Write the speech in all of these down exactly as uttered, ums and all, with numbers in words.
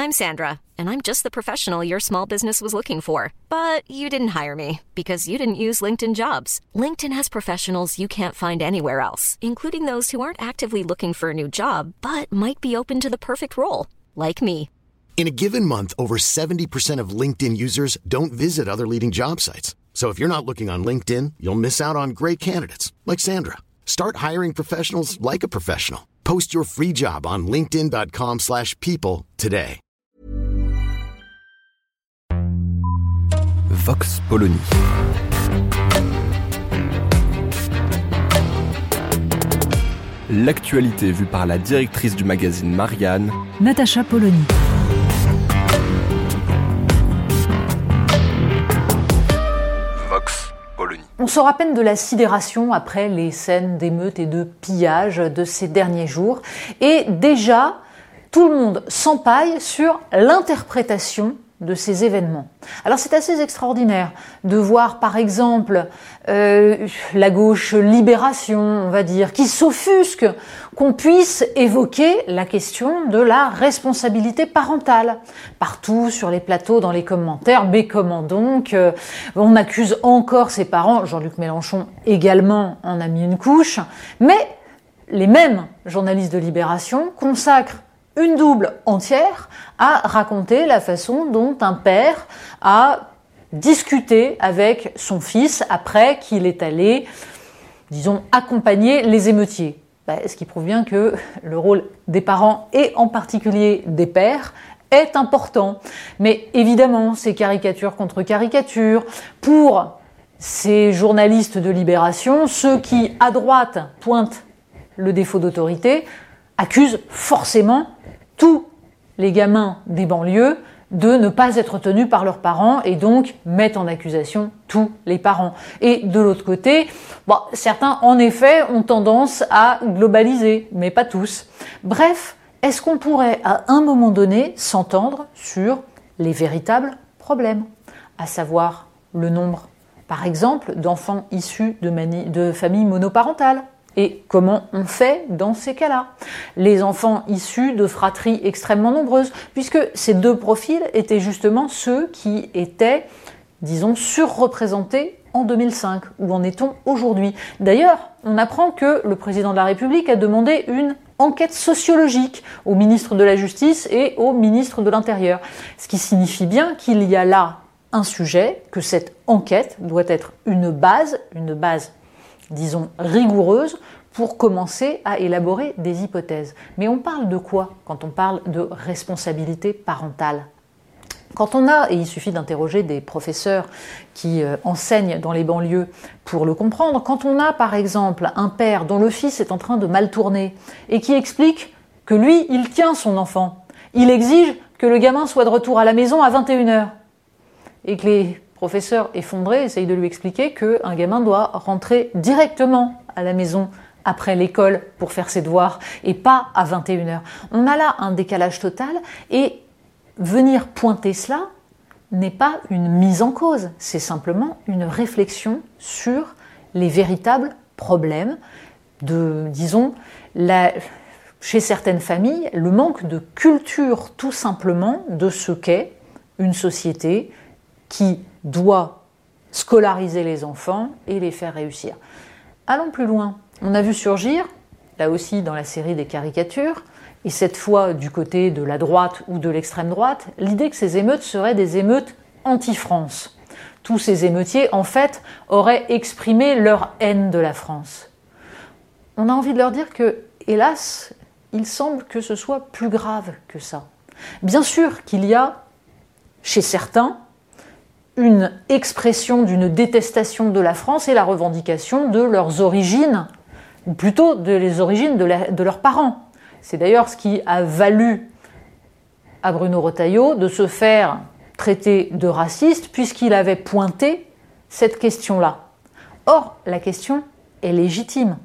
I'm Sandra, and I'm just the professional your small business was looking for. But you didn't hire me because you didn't use LinkedIn Jobs. LinkedIn has professionals you can't find anywhere else, including those who aren't actively looking for a new job, but might be open to the perfect role, like me. In a given month, over seventy percent of LinkedIn users don't visit other leading job sites. So if you're not looking on LinkedIn, you'll miss out on great candidates like Sandra. Start hiring professionals like a professional. Post your free job on linkedin dot com slash people today. Vox Polony. L'actualité vue par la directrice du magazine Marianne, Natacha Polony. Vox Polony. On sort à peine de la sidération après les scènes d'émeutes et de pillage de ces derniers jours. Et déjà, tout le monde s'empaille sur l'interprétation de ces événements. Alors c'est assez extraordinaire de voir par exemple euh, la gauche Libération, on va dire, qui s'offusque qu'on puisse évoquer la question de la responsabilité parentale. Partout sur les plateaux, dans les commentaires, mais comment donc euh, on accuse encore ses parents, Jean-Luc Mélenchon également en a mis une couche, mais les mêmes journalistes de Libération consacrent une double entière à raconter la façon dont un père a discuté avec son fils après qu'il est allé, disons, accompagner les émeutiers. Ben, ce qui prouve bien que le rôle des parents, et en particulier des pères, est important. Mais évidemment, c'est caricature contre caricature. Pour ces journalistes de Libération, ceux qui, à droite, pointent le défaut d'autorité, accusent forcément tous les gamins des banlieues de ne pas être tenus par leurs parents et donc mettent en accusation tous les parents. Et de l'autre côté, bon, certains en effet ont tendance à globaliser, mais pas tous. Bref, est-ce qu'on pourrait à un moment donné s'entendre sur les véritables problèmes, à savoir le nombre, par exemple, d'enfants issus de, mani- de familles monoparentales? Et comment on fait dans ces cas-là? Les enfants issus de fratries extrêmement nombreuses, puisque ces deux profils étaient justement ceux qui étaient, disons, surreprésentés en deux mille cinq. Où en est-on aujourd'hui? D'ailleurs, on apprend que le président de la République a demandé une enquête sociologique au ministre de la Justice et au ministre de l'Intérieur. Ce qui signifie bien qu'il y a là un sujet, que cette enquête doit être une base, une base disons, rigoureuse pour commencer à élaborer des hypothèses. Mais on parle de quoi quand on parle de responsabilité parentale? Quand on a, et il suffit d'interroger des professeurs qui euh, enseignent dans les banlieues pour le comprendre, quand on a par exemple un père dont le fils est en train de mal tourner et qui explique que lui, il tient son enfant, il exige que le gamin soit de retour à la maison à vingt et une heures et que les professeur effondré essaye de lui expliquer qu'un gamin doit rentrer directement à la maison après l'école pour faire ses devoirs et pas à vingt et une heures. On a là un décalage total et venir pointer cela n'est pas une mise en cause, c'est simplement une réflexion sur les véritables problèmes de, disons, la, chez certaines familles, le manque de culture tout simplement de ce qu'est une société qui doit scolariser les enfants et les faire réussir. Allons plus loin. On a vu surgir, là aussi dans la série des caricatures, et cette fois du côté de la droite ou de l'extrême droite, l'idée que ces émeutes seraient des émeutes anti-France. Tous ces émeutiers, en fait, auraient exprimé leur haine de la France. On a envie de leur dire que, hélas, il semble que ce soit plus grave que ça. Bien sûr qu'il y a, chez certains, une expression d'une détestation de la France et la revendication de leurs origines, ou plutôt de les origines de, la, de leurs parents. C'est d'ailleurs ce qui a valu à Bruno Retailleau de se faire traiter de raciste puisqu'il avait pointé cette question-là. Or, la question est légitime.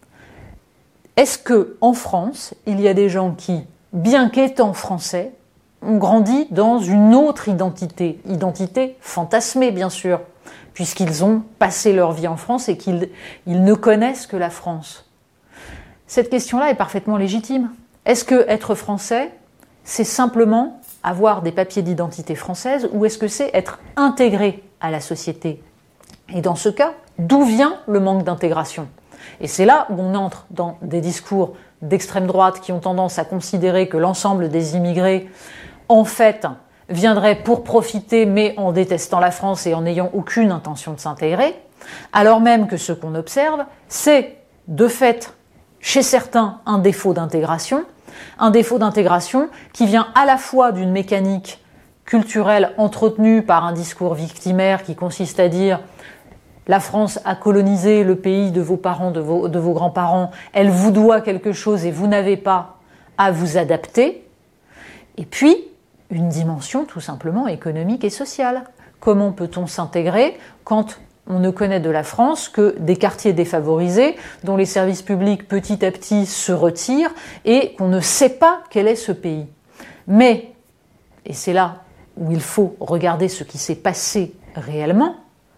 Est-ce qu'en France, il y a des gens qui, bien qu'étant français, ont grandi dans une autre identité, identité fantasmée bien sûr, puisqu'ils ont passé leur vie en France et qu'ils ils ne connaissent que la France? Cette question-là est parfaitement légitime. Est-ce que être français, c'est simplement avoir des papiers d'identité française ou est-ce que c'est être intégré à la société? Et dans ce cas, d'où vient le manque d'intégration? Et c'est là où on entre dans des discours d'extrême droite qui ont tendance à considérer que l'ensemble des immigrés, en fait, viendraient pour profiter, mais en détestant la France et en n'ayant aucune intention de s'intégrer, alors même que ce qu'on observe, c'est de fait, chez certains, un défaut d'intégration, un défaut d'intégration qui vient à la fois d'une mécanique culturelle entretenue par un discours victimaire qui consiste à dire la France a colonisé le pays de vos parents, de vos, de vos grands-parents, elle vous doit quelque chose et vous n'avez pas à vous adapter. Et puis, une dimension tout simplement économique et sociale. Comment peut-on s'intégrer quand on ne connaît de la France que des quartiers défavorisés dont les services publics petit à petit se retirent et qu'on ne sait pas quel est ce pays. Mais, et c'est là où il faut regarder ce qui s'est passé réellement,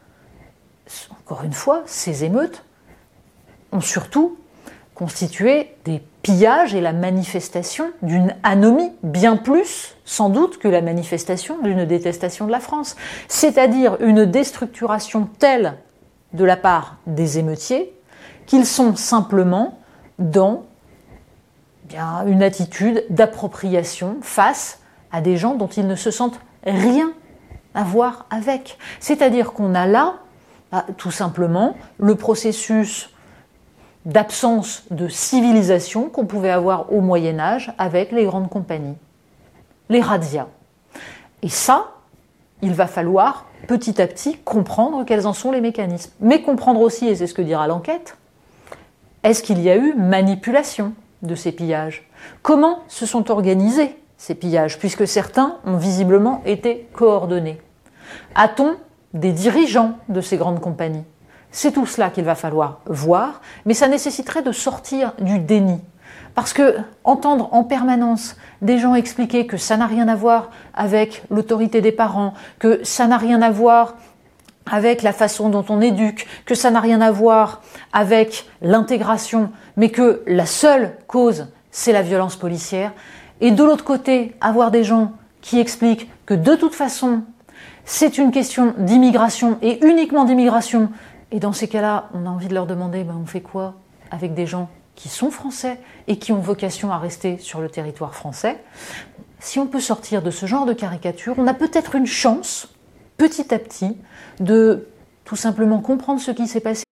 encore une fois, ces émeutes ont surtout constitué des pillages et la manifestation d'une anomie, bien plus, sans doute, que la manifestation d'une détestation de la France. C'est-à-dire une déstructuration telle de la part des émeutiers qu'ils sont simplement dans bien, une attitude d'appropriation face à des gens dont ils ne se sentent rien à voir avec. C'est-à-dire qu'on a là, bah, tout simplement, le processus d'absence de civilisation qu'on pouvait avoir au Moyen-Âge avec les grandes compagnies, les razzias. Et ça, il va falloir petit à petit comprendre quels en sont les mécanismes. Mais comprendre aussi, et c'est ce que dira l'enquête, est-ce qu'il y a eu manipulation de ces pillages? Comment se sont organisés ces pillages, puisque certains ont visiblement été coordonnés? A-t-on des dirigeants de ces grandes compagnies? C'est tout cela qu'il va falloir voir, mais ça nécessiterait de sortir du déni. Parce que entendre en permanence des gens expliquer que ça n'a rien à voir avec l'autorité des parents, que ça n'a rien à voir avec la façon dont on éduque, que ça n'a rien à voir avec l'intégration, mais que la seule cause, c'est la violence policière, et de l'autre côté, avoir des gens qui expliquent que de toute façon, c'est une question d'immigration et uniquement d'immigration. Et dans ces cas-là, on a envie de leur demander, ben, on fait quoi avec des gens qui sont français et qui ont vocation à rester sur le territoire français? Si on peut sortir de ce genre de caricature, on a peut-être une chance, petit à petit, de tout simplement comprendre ce qui s'est passé.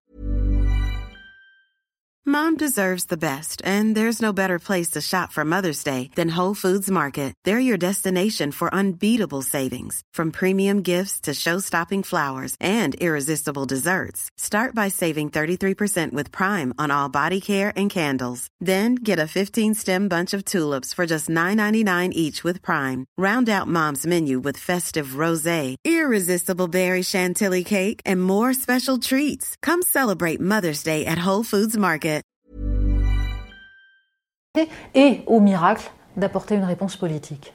Mom deserves the best, and there's no better place to shop for Mother's Day than Whole Foods Market. They're your destination for unbeatable savings, from premium gifts to show-stopping flowers and irresistible desserts. Start by saving thirty-three percent with Prime on all body care and candles. Then get a fifteen-stem bunch of tulips for just nine ninety-nine each with Prime. Round out Mom's menu with festive rosé, irresistible berry chantilly cake, and more special treats. Come celebrate Mother's Day at Whole Foods Market. Et au miracle d'apporter une réponse politique.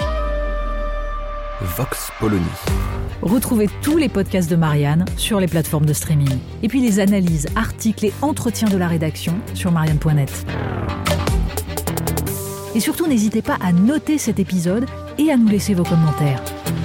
Vox Polony. Retrouvez tous les podcasts de Marianne sur les plateformes de streaming. Et puis les analyses, articles et entretiens de la rédaction sur marianne point net. Et surtout, n'hésitez pas à noter cet épisode et à nous laisser vos commentaires.